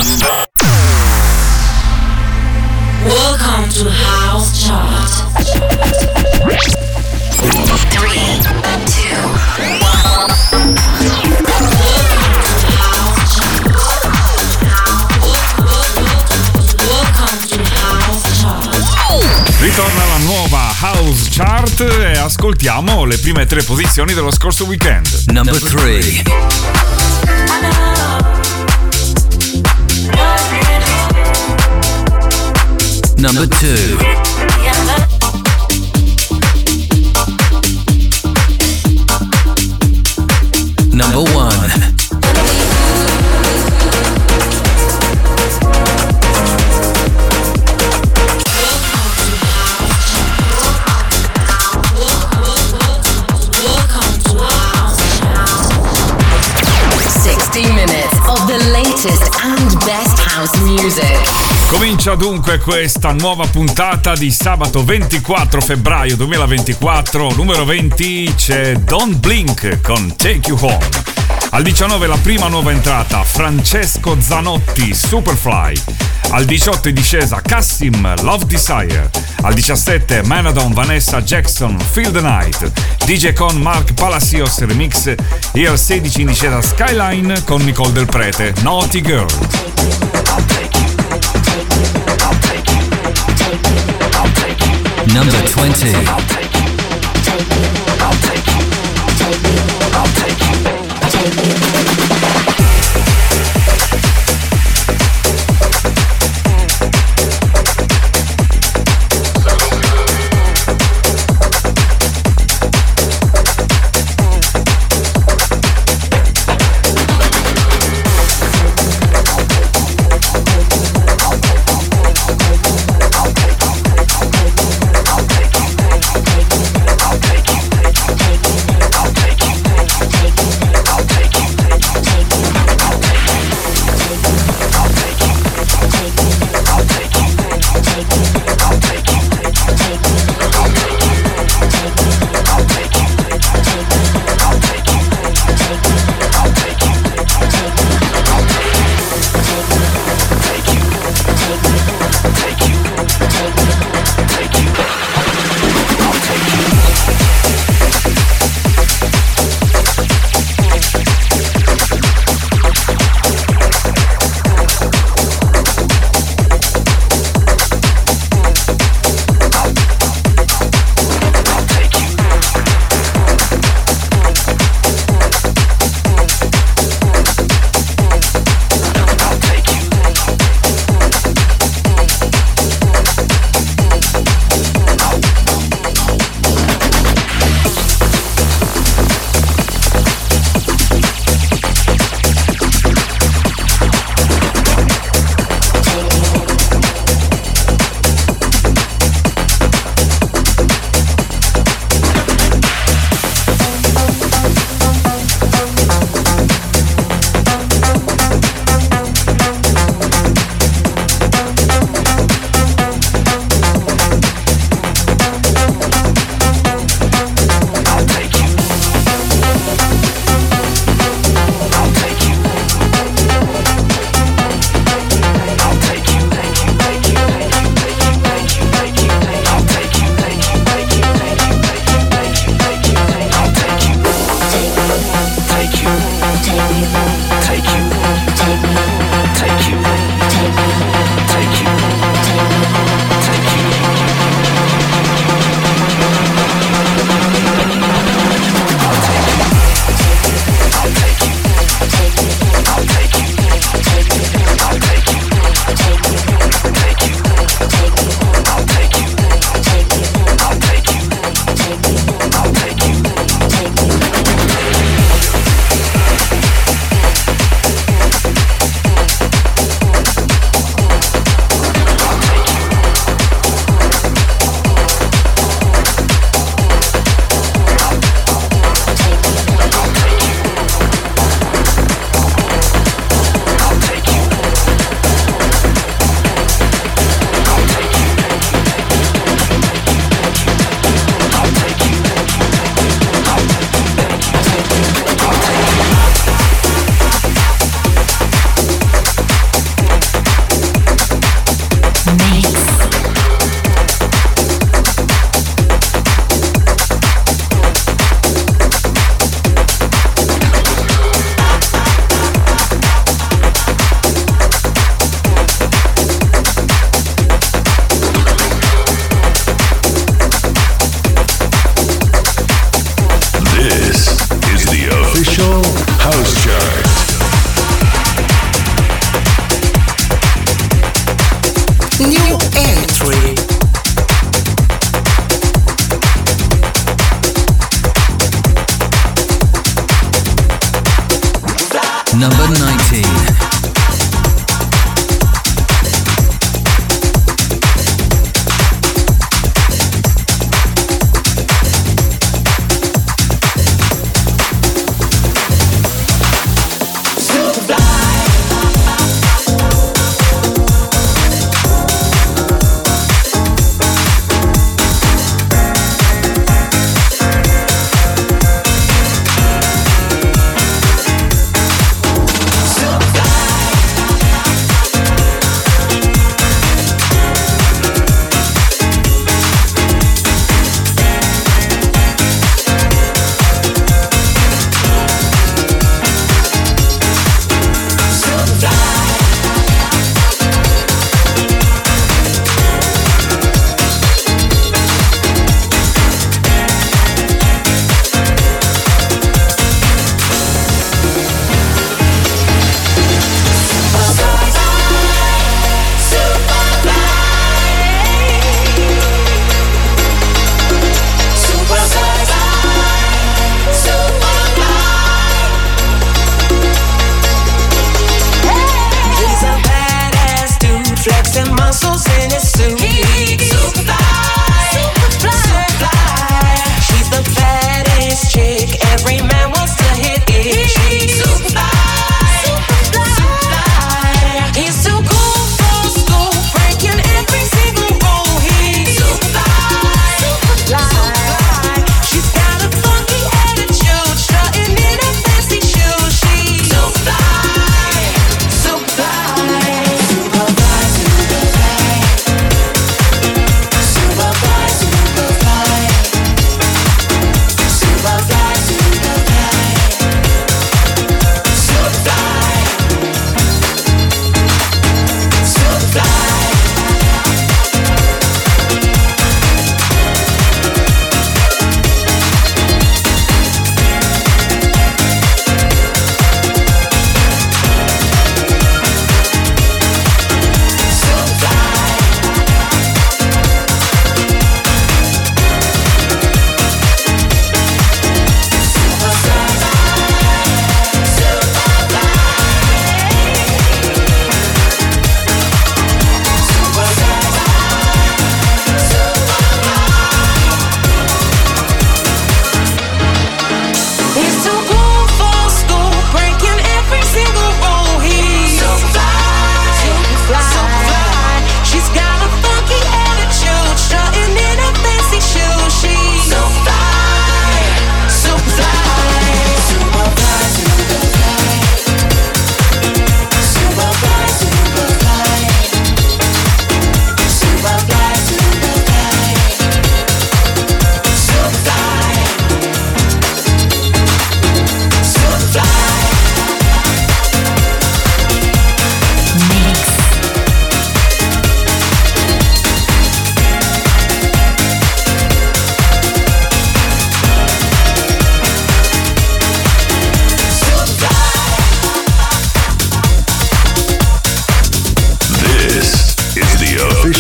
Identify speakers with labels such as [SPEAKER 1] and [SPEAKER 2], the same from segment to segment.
[SPEAKER 1] Welcome to House Chart. 3, 2, 1.
[SPEAKER 2] Ritorna la nuova House Chart e ascoltiamo le prime 3 posizioni dello scorso weekend.
[SPEAKER 3] Number 3. Number 2. Number 1.
[SPEAKER 1] And best house music.
[SPEAKER 2] Comincia dunque questa nuova puntata di sabato 24 febbraio 2024. Numero 20 c'è Don't Blink con Take You Home. Al 19 la prima nuova entrata, Francesco Zanotti, Superfly. Al 18 in discesa Cassim, Love Desire. Al 17 Manadon, Vanessa Jackson, Feel the Night. DJ con Mark Palacios Remix. E al 16 in discesa Skyline con Nicole Del Prete, Naughty Girl.
[SPEAKER 3] Number 20.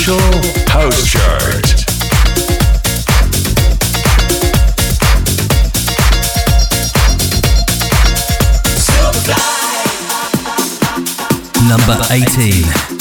[SPEAKER 4] official house chart.
[SPEAKER 3] Number 18.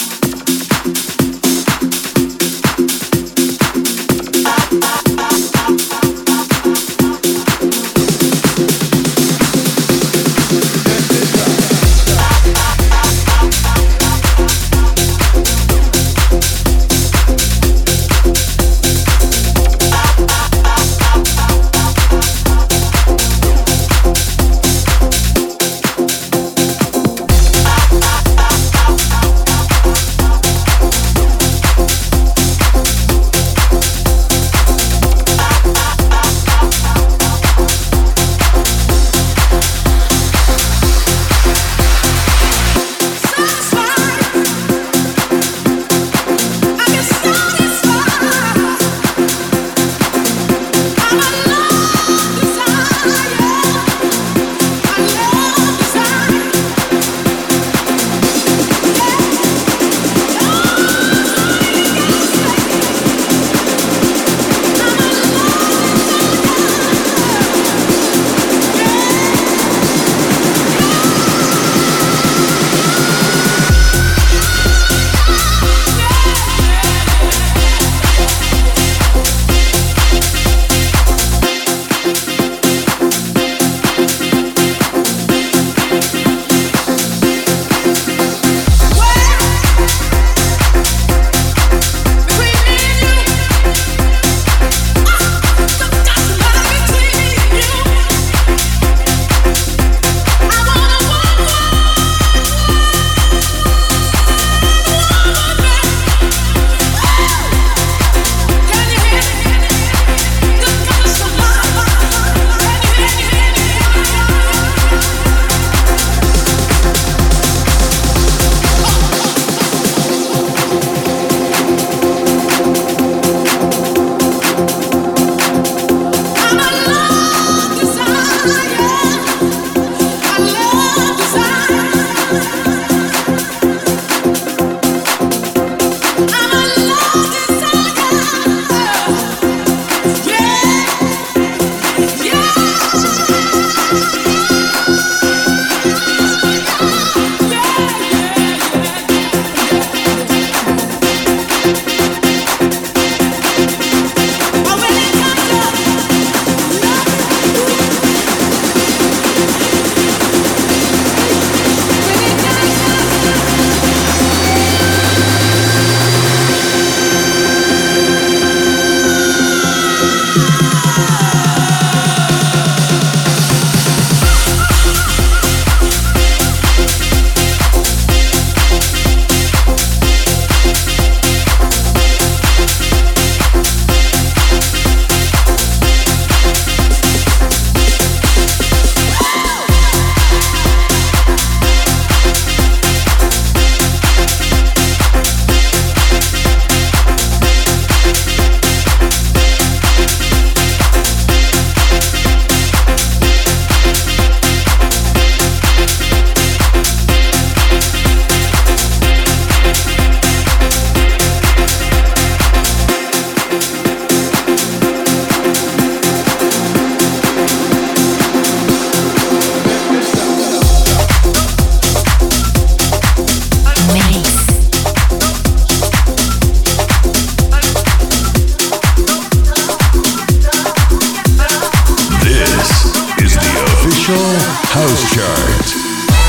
[SPEAKER 4] House Chart.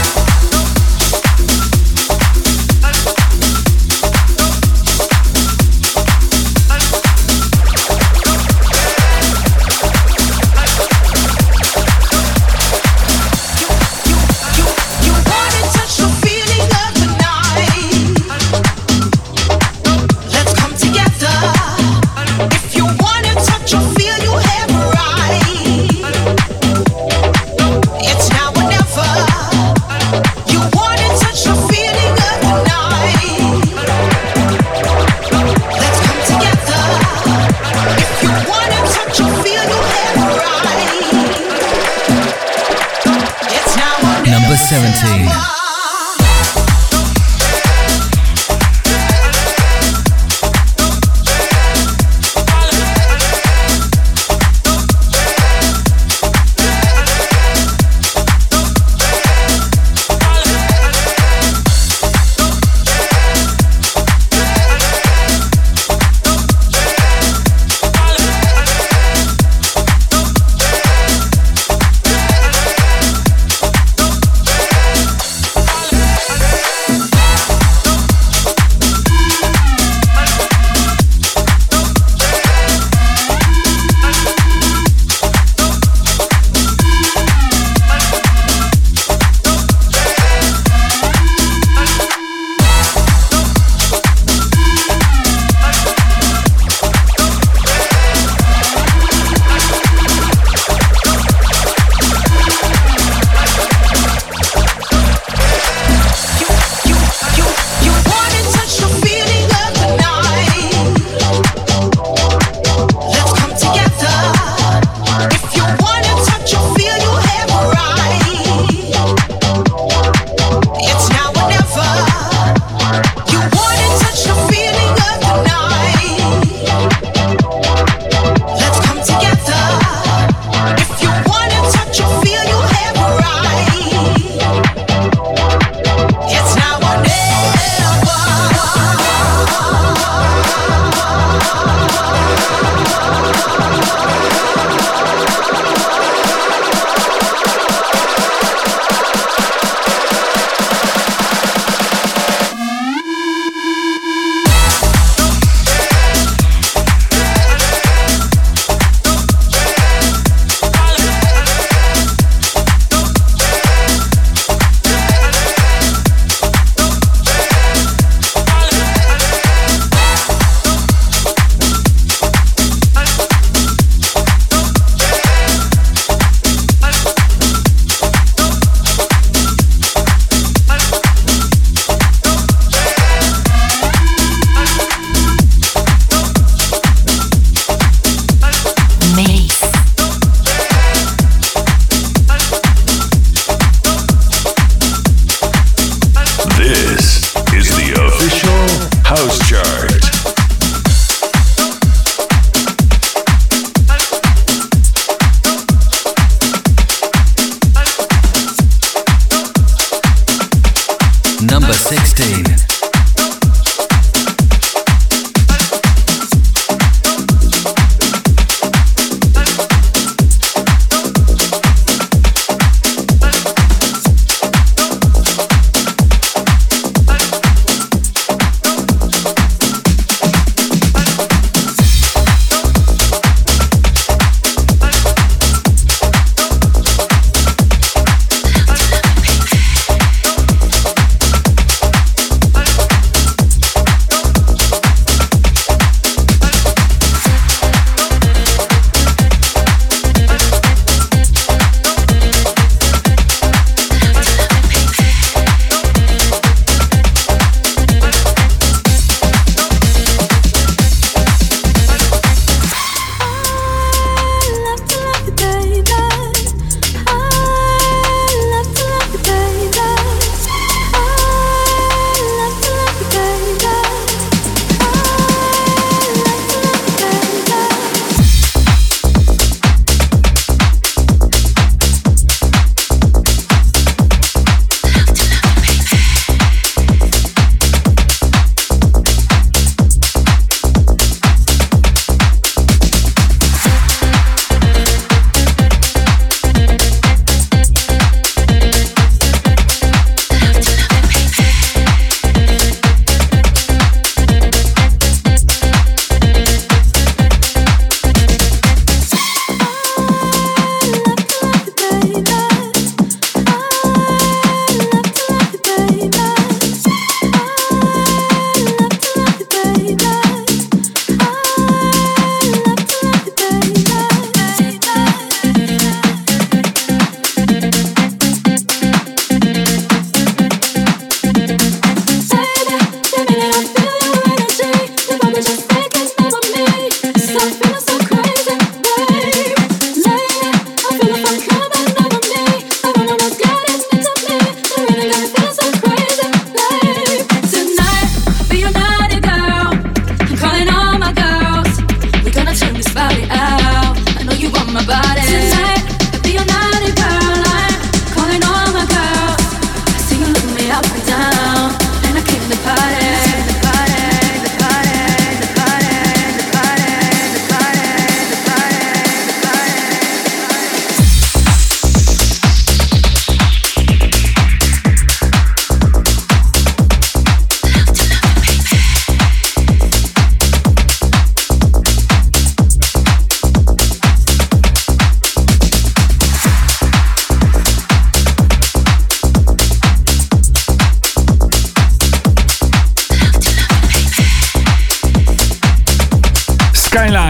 [SPEAKER 3] Number 17.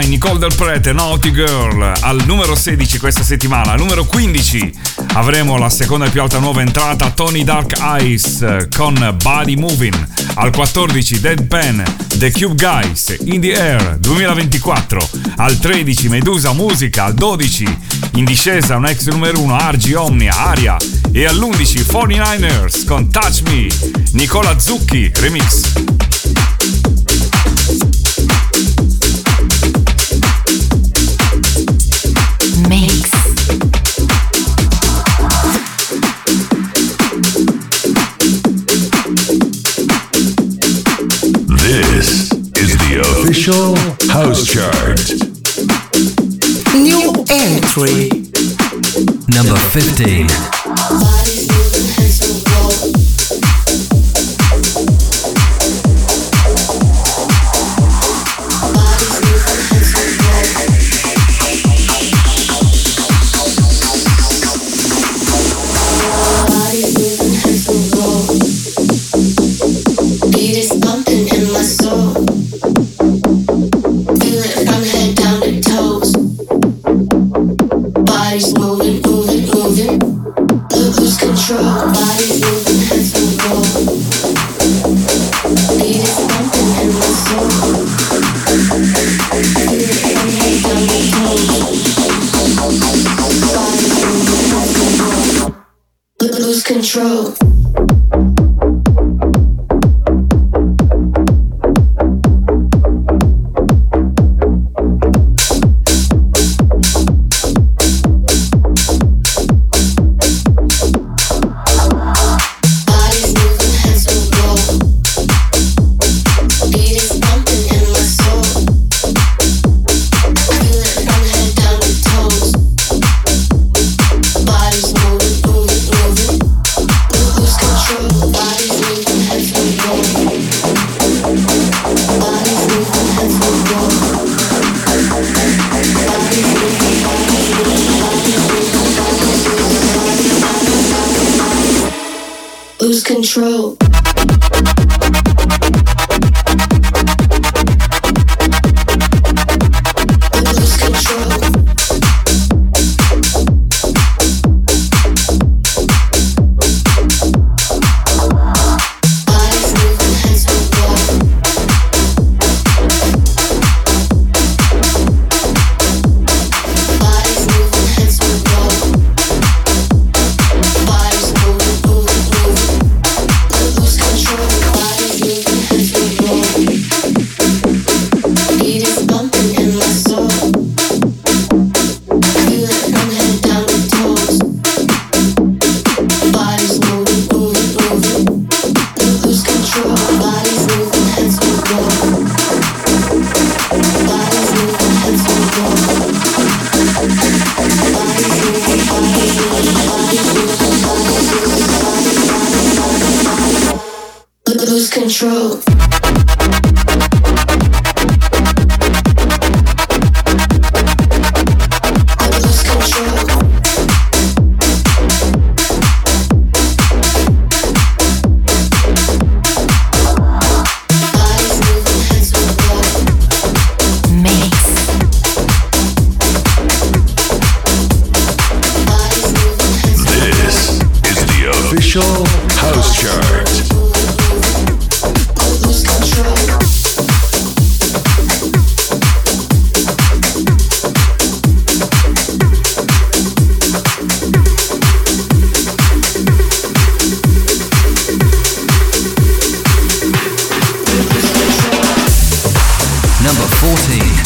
[SPEAKER 2] Nicole Del Prete, Naughty Girl, al numero 16 questa settimana. Al numero 15 avremo la seconda e più alta nuova entrata, Tony Dark Eyes con Body Moving. Al 14 Deadpan, The Cube Guys, In the Air 2024. Al 13 Medusa Musica. Al 12 in discesa un ex numero 1, Argy Omnia, Aria. E all'11 49ers con Touch Me, Nicola Zucchi remix.
[SPEAKER 1] Mix.
[SPEAKER 4] This is the official house chart.
[SPEAKER 5] New entry.
[SPEAKER 3] Number 15.
[SPEAKER 6] Control. Lose control. Lose control.
[SPEAKER 4] House chart.
[SPEAKER 3] Number 14.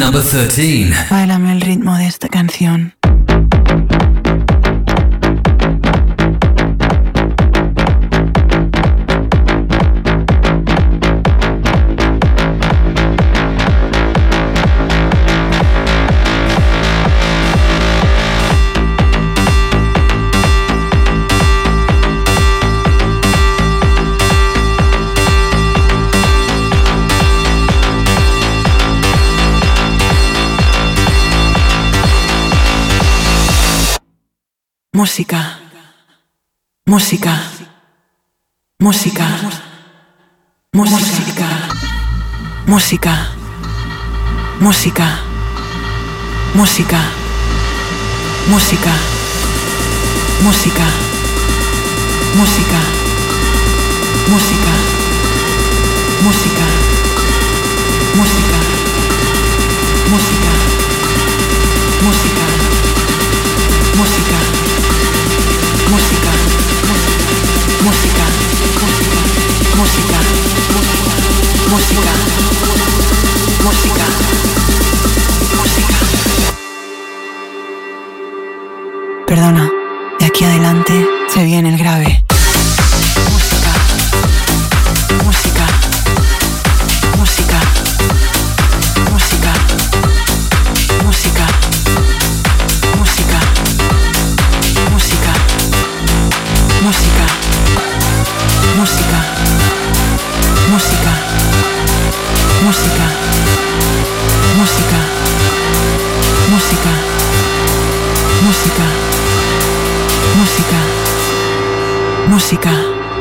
[SPEAKER 3] Number 13.
[SPEAKER 7] Báilame el ritmo de esta canción. Música, música, música, música, música, música, música, música, música, música, música, música, música, música, música, música. Música, música, música, música, música, música. Perdona, de aquí adelante se viene el grave. Música, música, música, música, música, música, música. Música, música, música, música, música, música, música, música, música.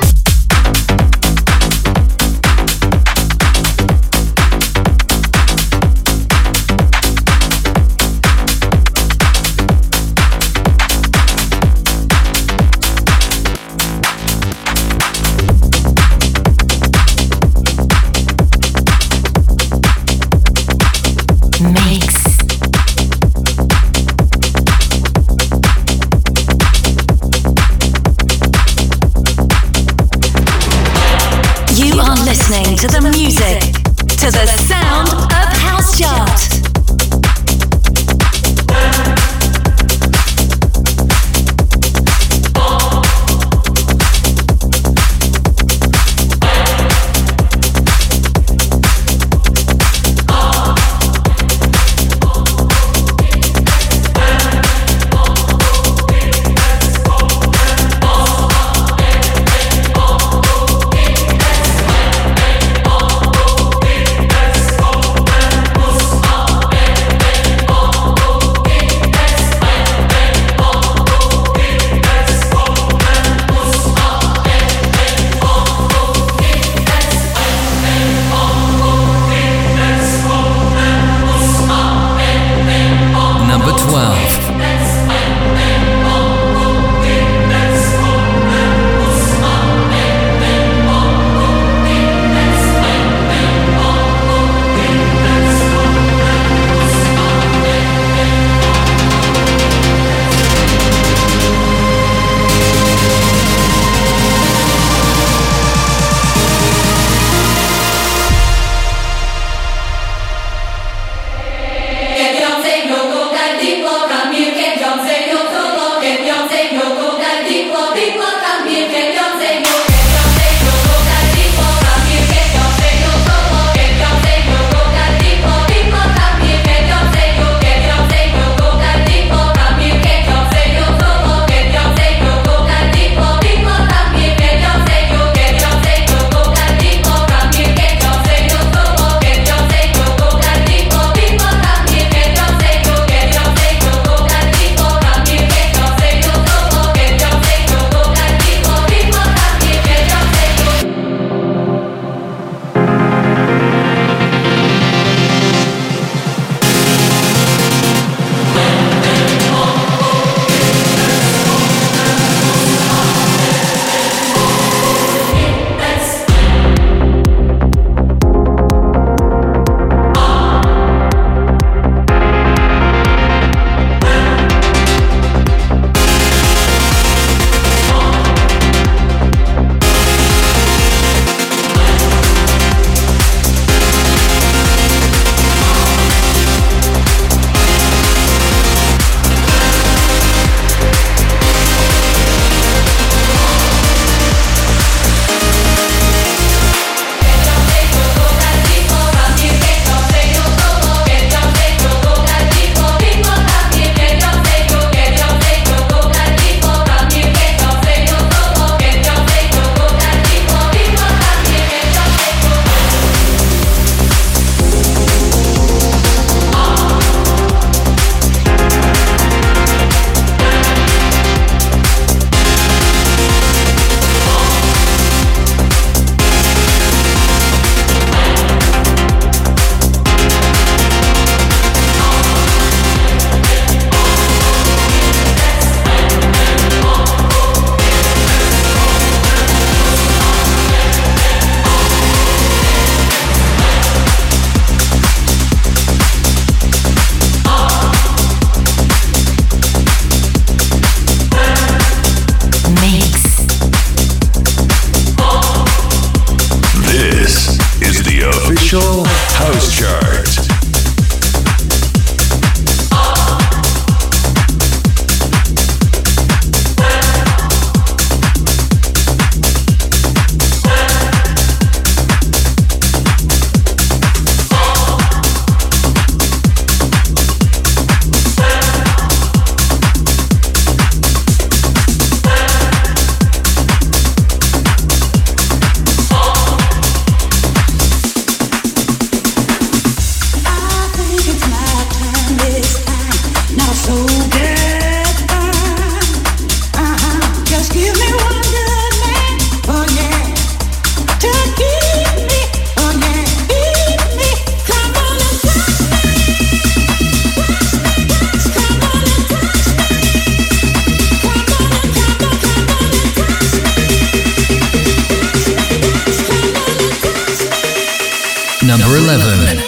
[SPEAKER 1] Listening to the music, to the sound of House Chart.
[SPEAKER 3] Number 11.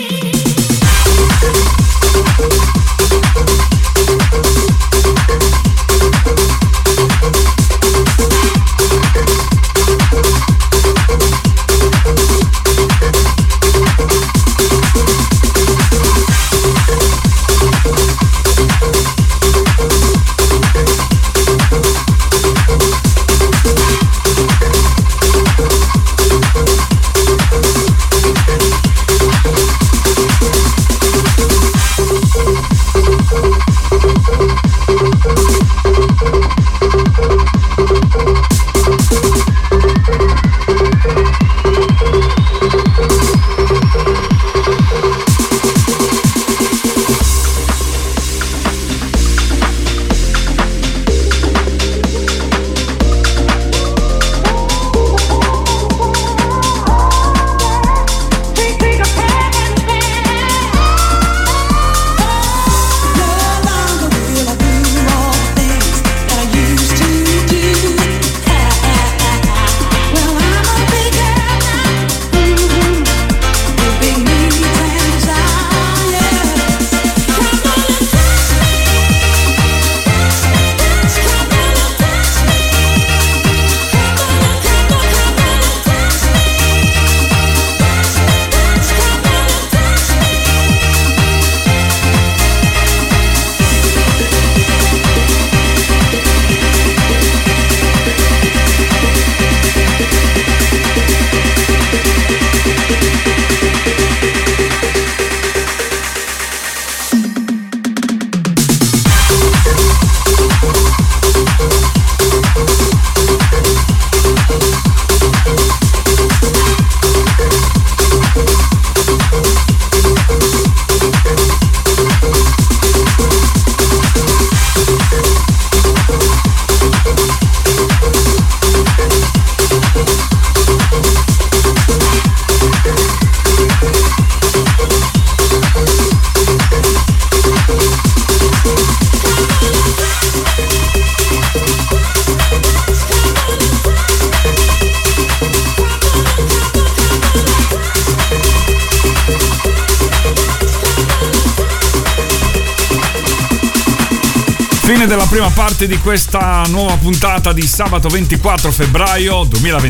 [SPEAKER 2] Fine della prima parte di questa nuova puntata di sabato 24 febbraio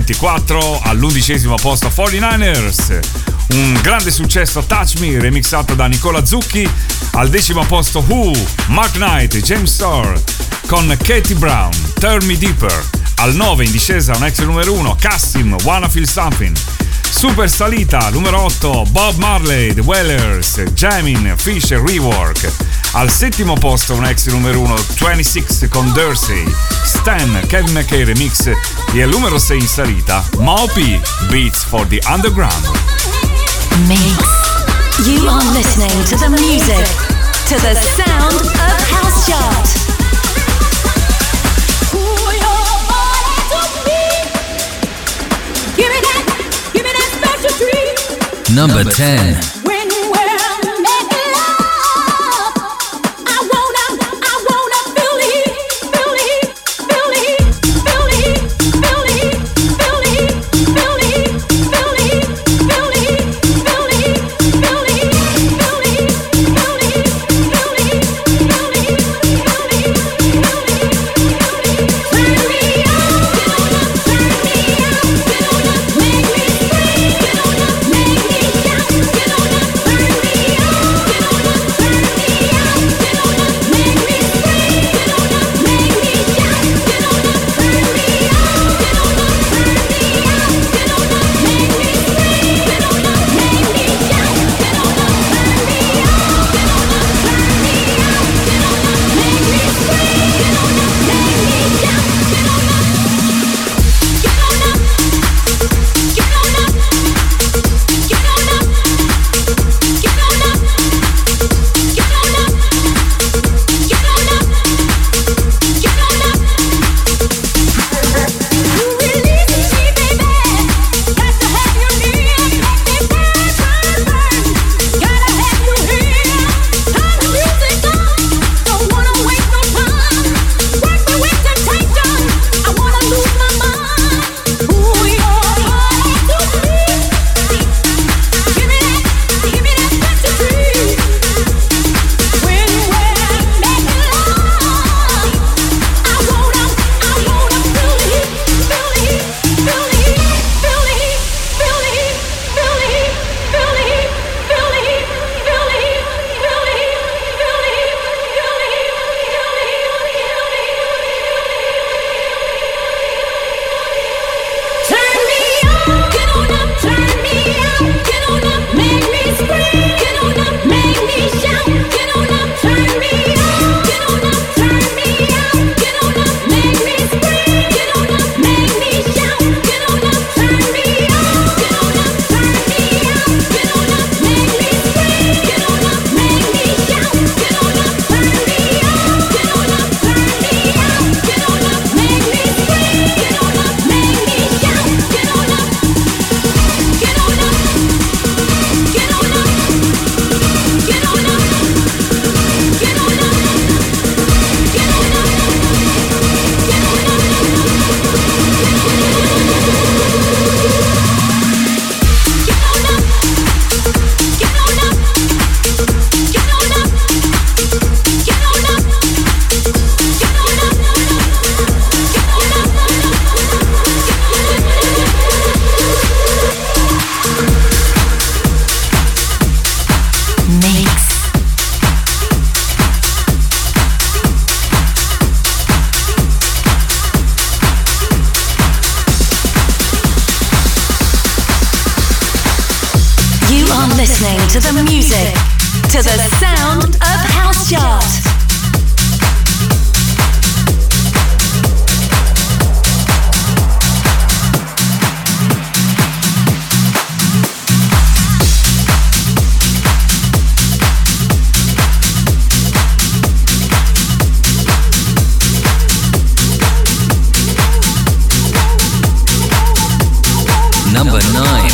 [SPEAKER 2] 2024. All'11° posto 49ers, un grande successo Touch Me remixato da Nicola Zucchi. Al 10° posto Who, Mark Knight, James Starr con Katie Brown, Turn Me Deeper. Al 9 in discesa un ex numero 1, Cassim, Wanna Feel Something. Super salita, numero 8, Bob Marley, The Wailers, Jamin, Fisher, Rework. Al 7° posto un ex numero 1, 26 con Dursey, Stan, Kevin McKay remix. E al numero 6 in salita, Mopi, Beats for the Underground.
[SPEAKER 1] Mix. You are listening to the music, to the sound of House Chart.
[SPEAKER 3] Number 10.
[SPEAKER 8] Get on
[SPEAKER 1] to the sound of House Chart.
[SPEAKER 3] Number 9.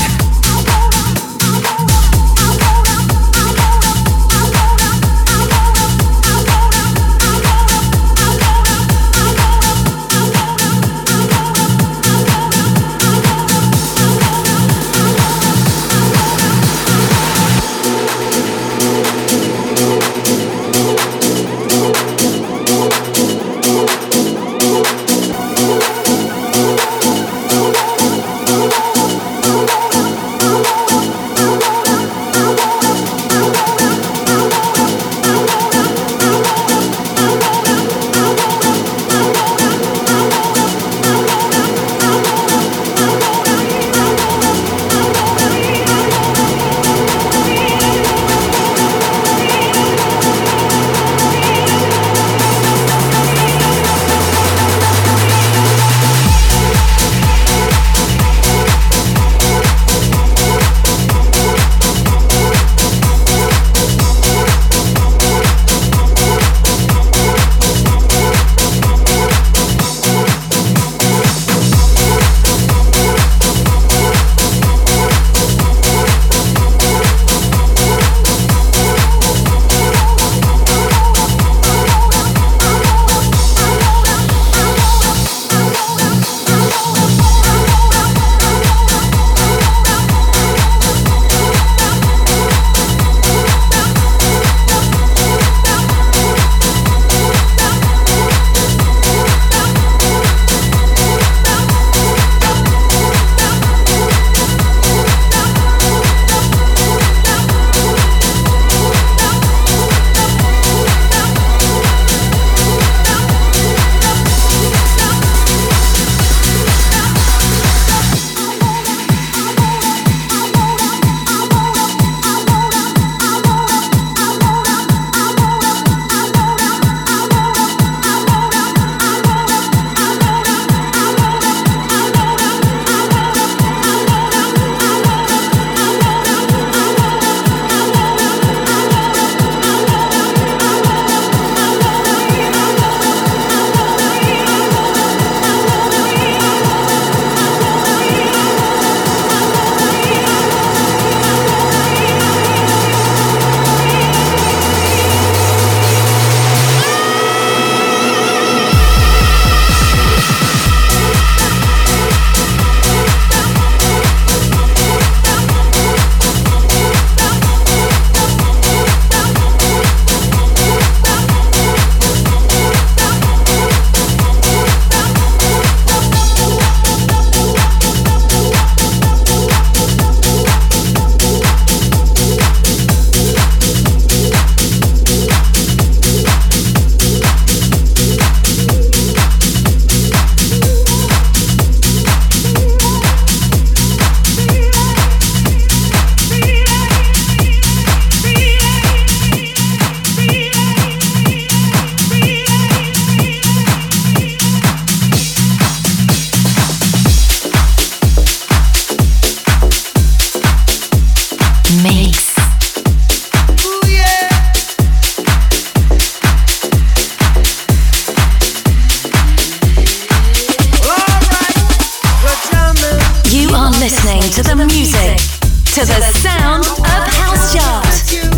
[SPEAKER 1] listening to the music, to the sound of House Chart.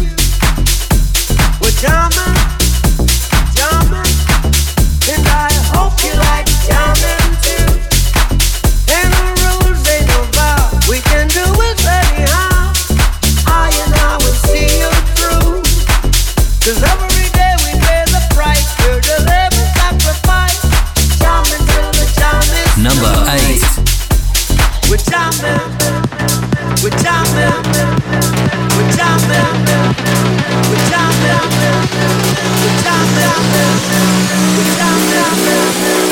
[SPEAKER 8] We're jamming, jamming, and I hope you like jamming too. And the rules ain't no bar, we can do it anyhow. I and I will see you through, 'cause every day we pay the price, we're delivering sacrifice. Jamming till the jam is
[SPEAKER 3] Number 8.
[SPEAKER 8] We're jamming, we're jamming, we're jamming, we're jamming, we're jamming, we're jamming,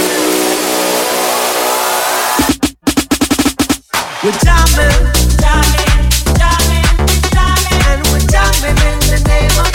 [SPEAKER 8] we're jamming, jamming, jamming, jamming, and we're jamming in the name of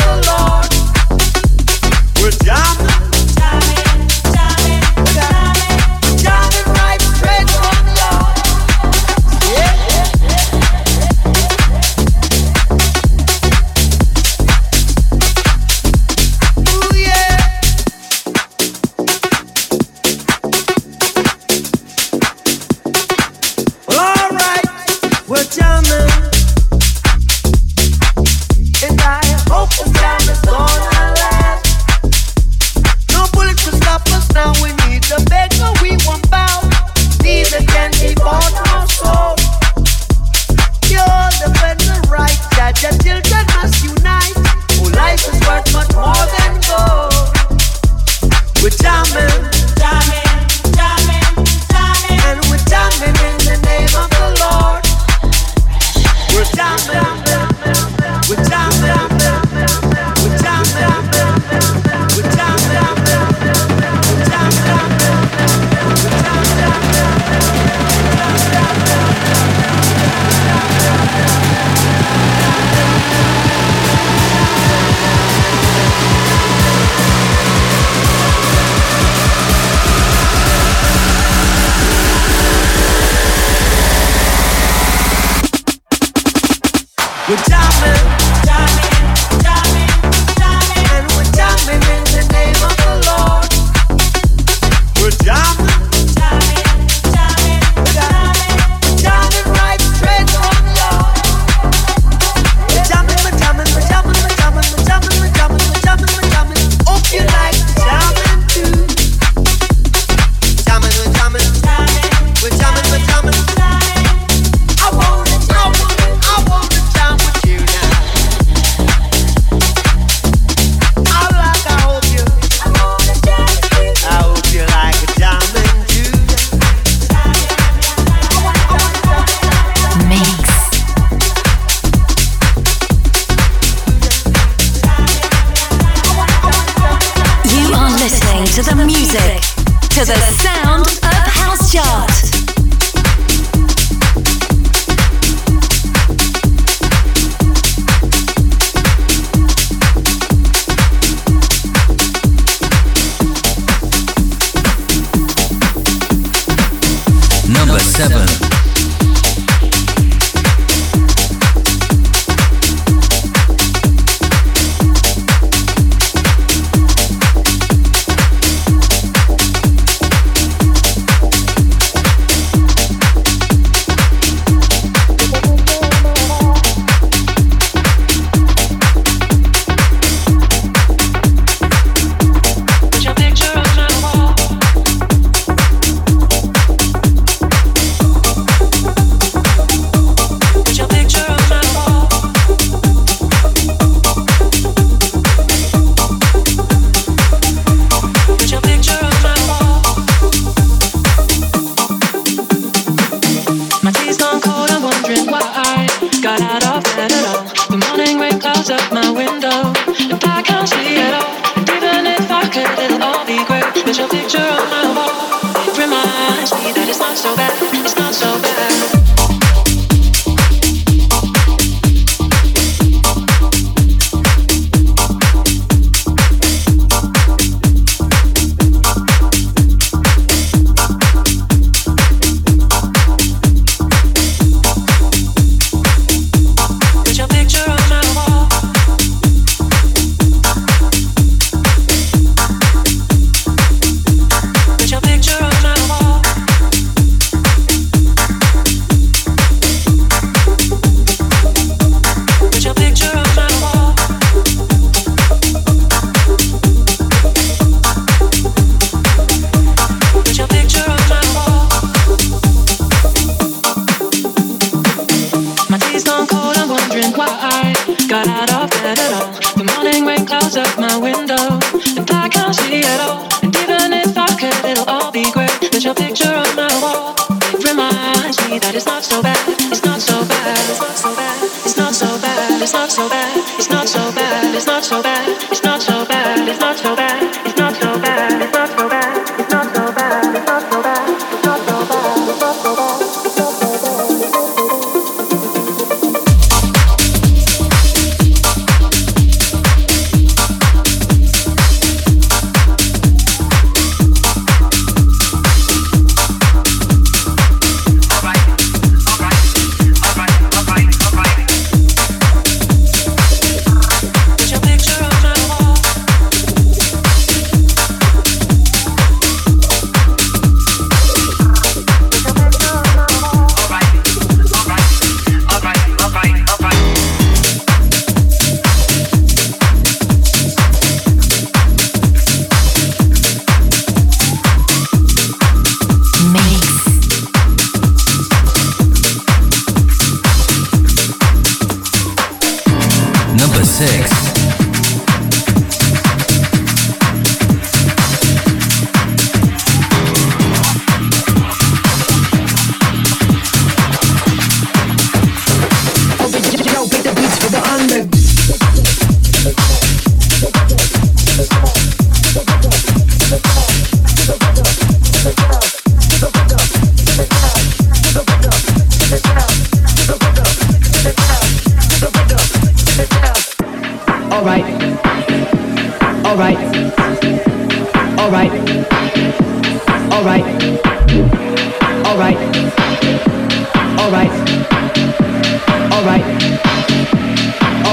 [SPEAKER 9] Alright.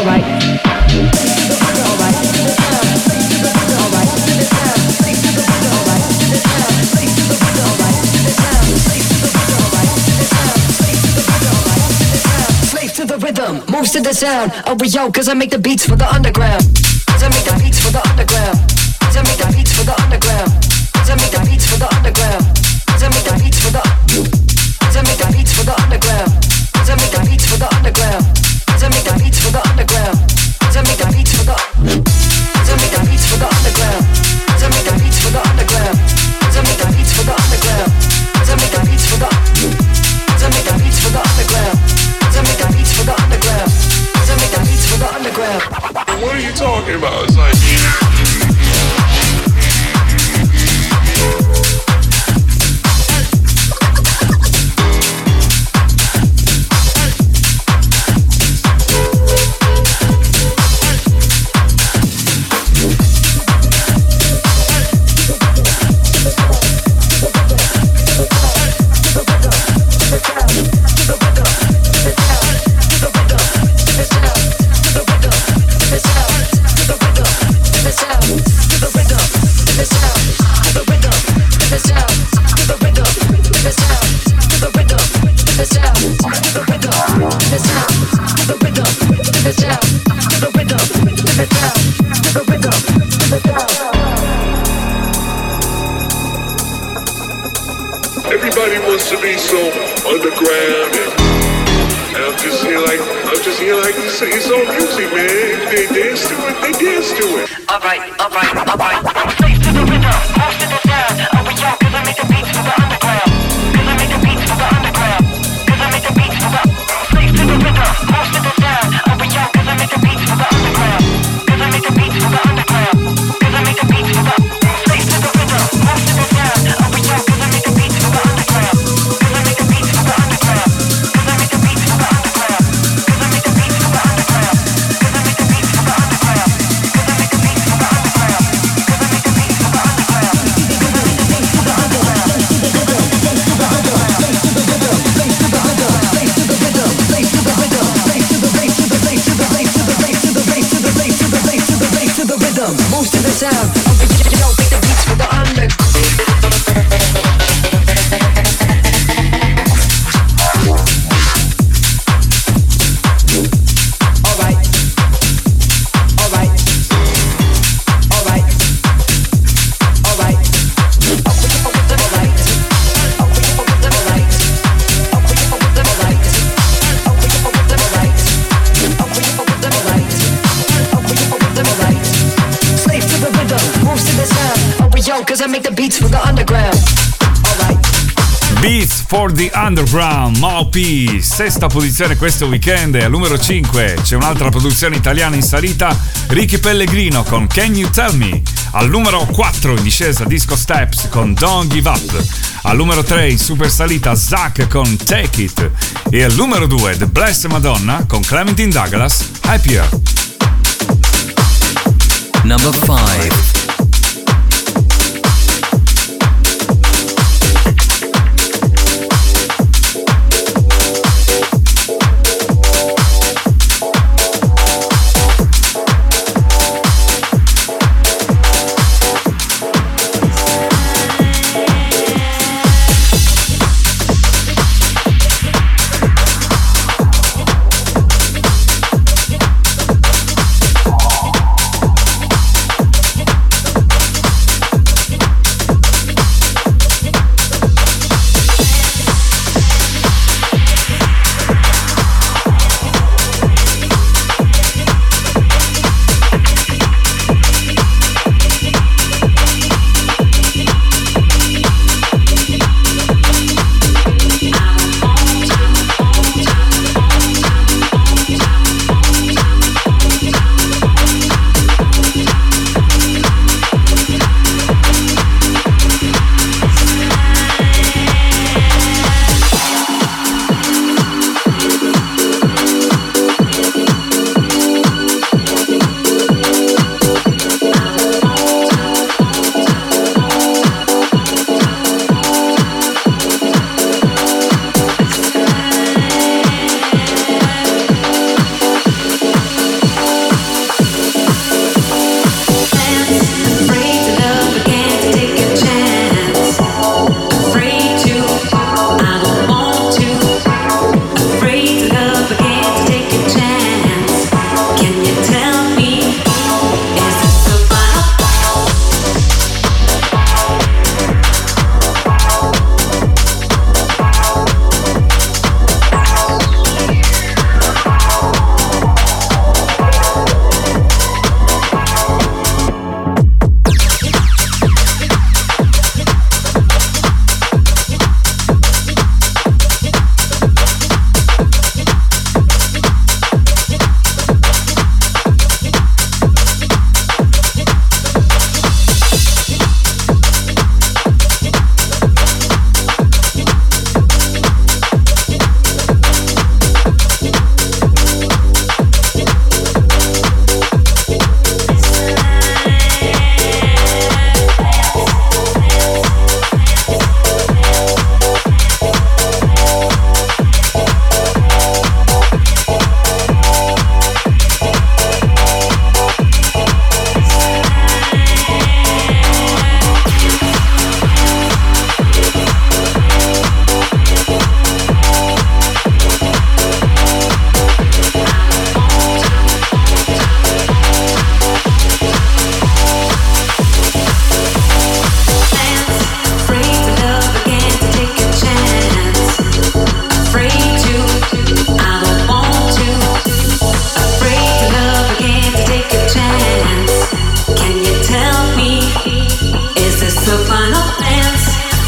[SPEAKER 9] Moves to the sound, oh we yo, cause I make the beats for the underground. Cause I make the beats for the underground. Cause I make the beats for the underground. Cause I make the beats for the underground. Cause I make the beats for the. Cause I make the beats for the underground. Cause I make the beats for the underground. Cause I make the beats for the underground. Cause I make the beats for the. Cause I make the beats for the underground. Cause I make the beats for the underground. Cause I make the beats for the underground. Cause I make the beats for the. Cause I make the beats for the underground. Cause I make the beats for the underground. Cause I make the beats for the underground.
[SPEAKER 4] What are you talking about? It's like everybody wants to be so underground, and I'm just here like it's all music, man. They dance to it.
[SPEAKER 9] All right. Slave to the rhythm, moves to the sound. Oh we yo, cause I make the beats for the underground. Cause I make the beats for the underground. Cause I make the beats for the. Slave to the rhythm, moves to the sound. Oh we yo, cause I make the beats for the underground. Cause I make the beats for the underground. Cause I make the beats for the. Slave to the rhythm, moves to the sound. Oh we yo, cause I make the beats for the underground. Cause I make the beats for the underground. Cause I make the beats for the underground. Cause I make the beats for the underground. Cause I make the beats for the underground. Cause I make the beats for the underground. Cause I make the beats for the underground. Moves to the sound. Oh, we yo, make the beats for the underground. Cause I make the beats for the underground. Alright.
[SPEAKER 2] Beats for the Underground, Maupi, sesta posizione questo weekend. E al numero 5 c'è un'altra produzione italiana in salita, Ricky Pellegrino con Can You Tell Me. Al numero 4 in discesa Disco Steps con Don't Give Up. Al numero 3 in super salita Zack con Take It. E al numero 2 The Blessed Madonna con Clementine Douglas, Happier.
[SPEAKER 3] Number 5.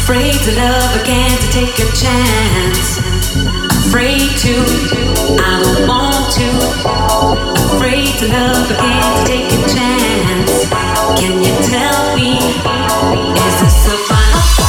[SPEAKER 10] Afraid to love again, to take a chance. Afraid to, I don't want to. Afraid to love again, to take a chance. Can you tell me, is this a final?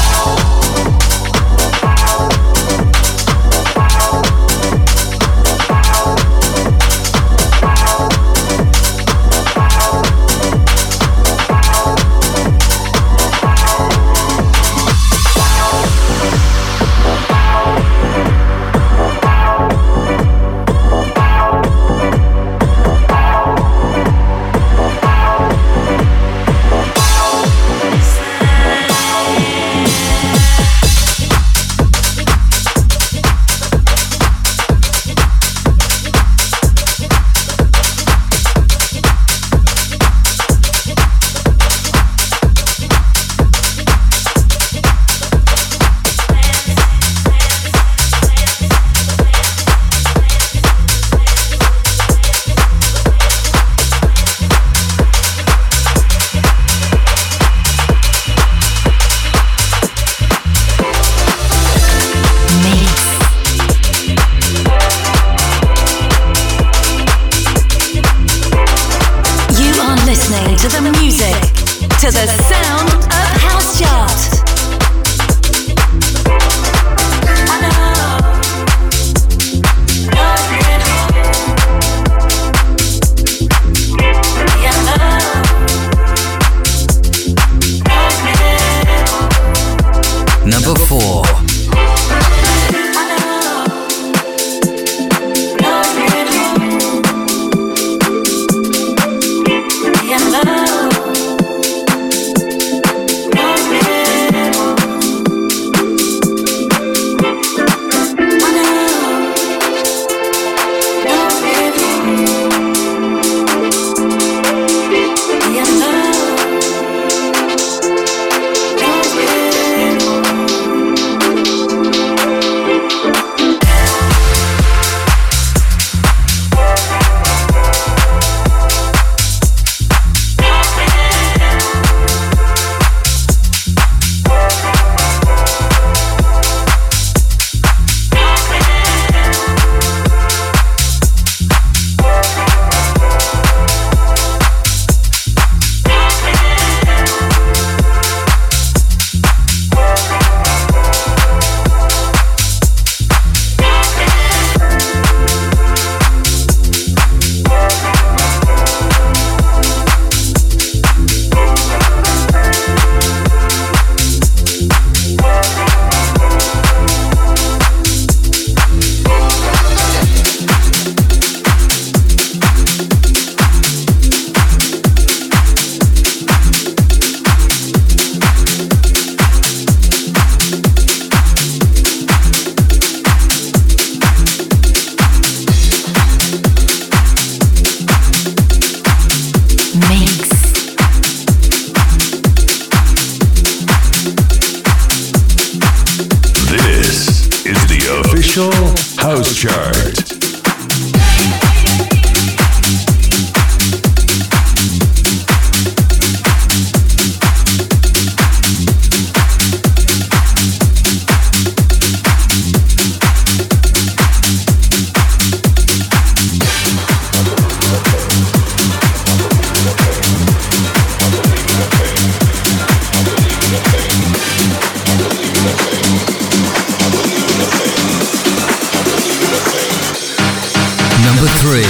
[SPEAKER 11] House Chart.
[SPEAKER 3] Number 3.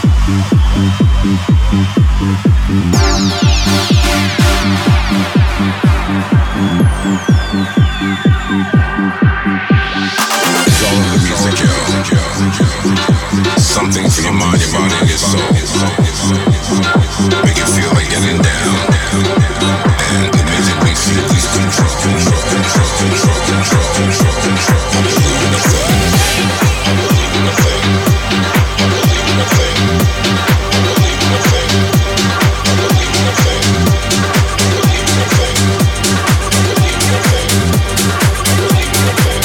[SPEAKER 12] Something for your mind, your body, and your soul. Make it feel like getting down. And the music makes you lose control. I believe in the thing. I believe in the thing. I believe in the thing. I believe in the thing. I believe in the thing. I believe in the thing. I believe in the thing. I believe in the thing.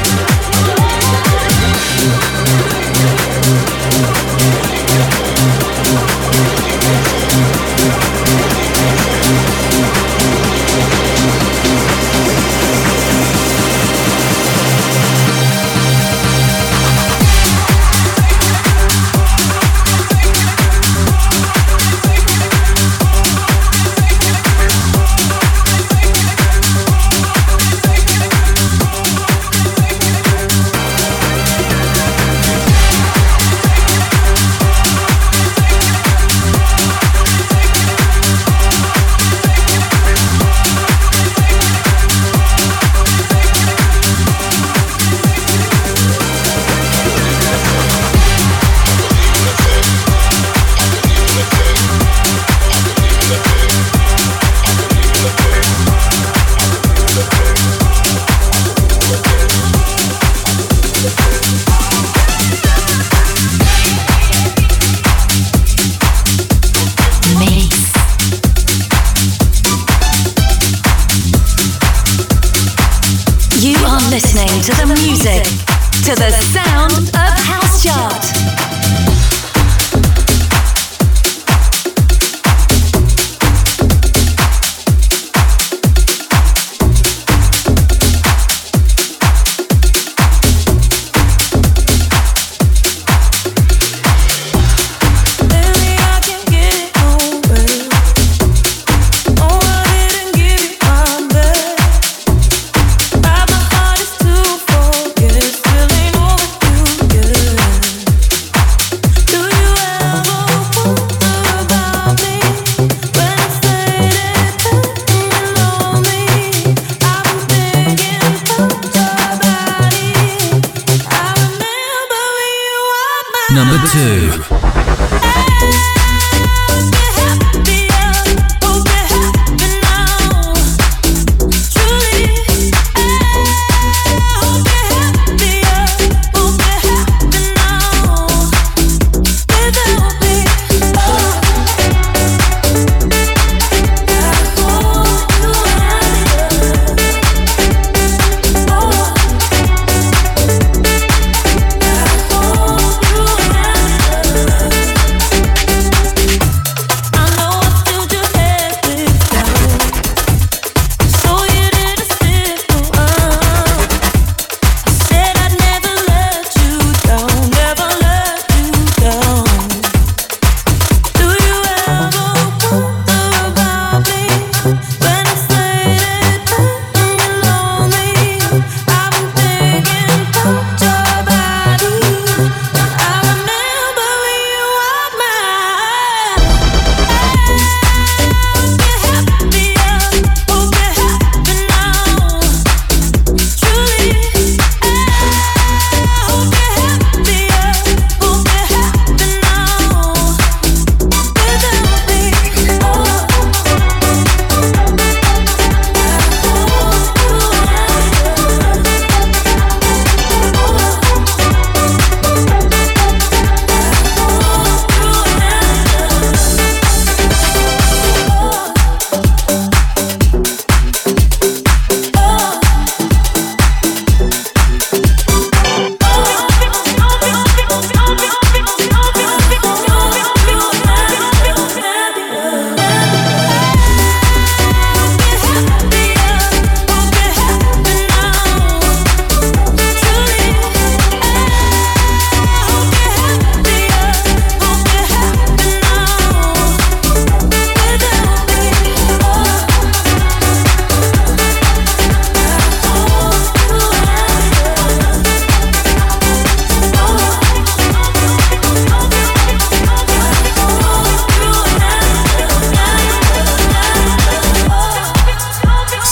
[SPEAKER 1] To the music, to the sound of House Chart.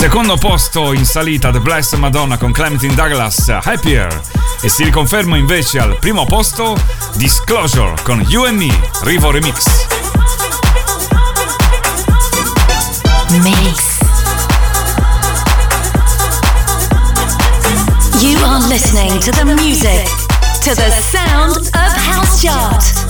[SPEAKER 2] Secondo posto in salita The Blessed Madonna con Clementine Douglas, Happier. E si riconferma invece al primo posto Disclosure con You and Me, Rivo Remix.
[SPEAKER 1] Mix. You are listening to the music, to the sound of House Chart.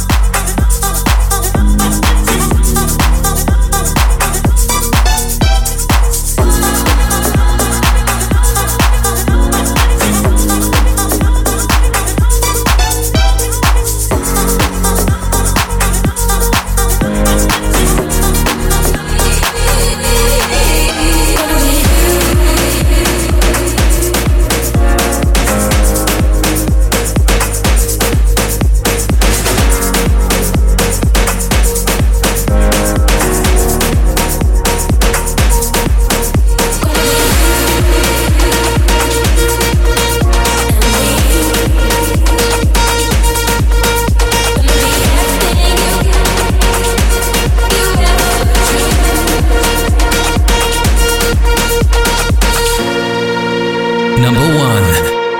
[SPEAKER 3] Number 1.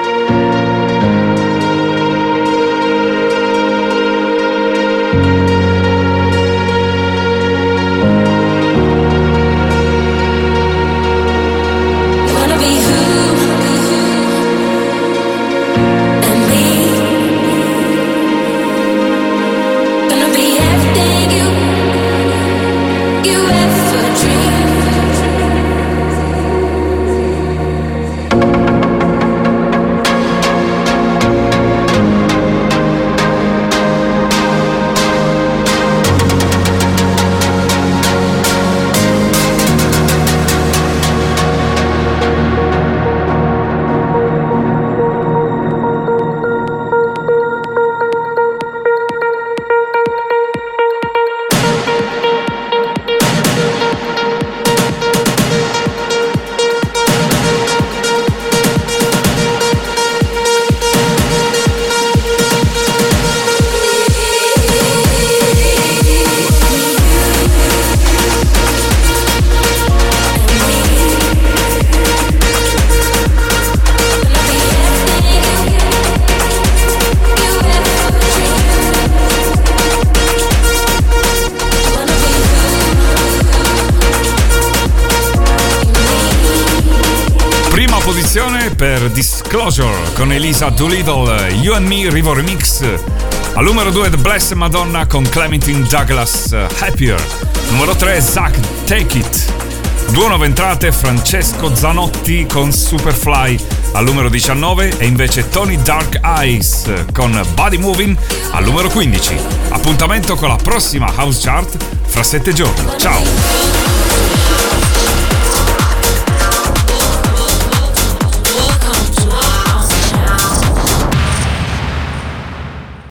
[SPEAKER 2] Per Disclosure con Elisa Doolittle, You and Me, Rivo Remix. Al numero 2 The Blessed Madonna con Clementine Douglas, Happier. Numero 3 Zach, Take It. Due nuove entrate, Francesco Zanotti con Superfly al numero 19 e invece Tony Dark Eyes con Body Moving al numero 15. Appuntamento con la prossima House Chart fra 7 giorni. Ciao!